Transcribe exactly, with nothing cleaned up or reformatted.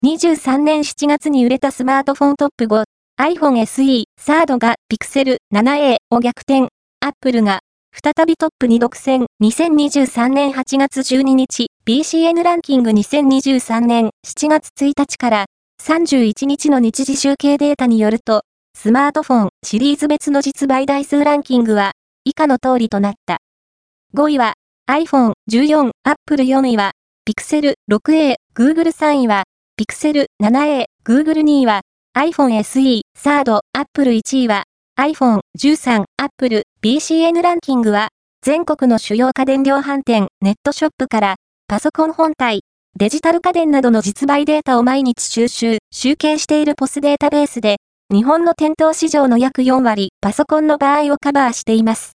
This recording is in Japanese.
にじゅうさんねんしちがつに売れたスマートフォントップご、iPhone エスイー、サードが Pixel セブンエー を逆転。Apple が再びトップに独占。にせんにじゅうさんねんはちがつじゅうににち、ビーシーエヌ ランキングにせんにじゅうさんねんしちがつついたちからさんじゅういちにちの日時集計データによると、スマートフォンシリーズ別の実売台数ランキングは以下の通りとなった。ごいは iPhone じゅうよん、Apple よんいは Pixel シックスエー、Google さんいは Pixel セブンエー、Google にいは iPhone エスイー、サード、Apple いちいは iPhone じゅうさん、Apple、ビーシーエヌ ランキングは全国の主要家電量販店、ネットショップからパソコン本体、デジタル家電などの実売データを毎日収集、集計しているポスデータベースで、日本の店頭市場の約よんわり、パソコンの場合をカバーしています。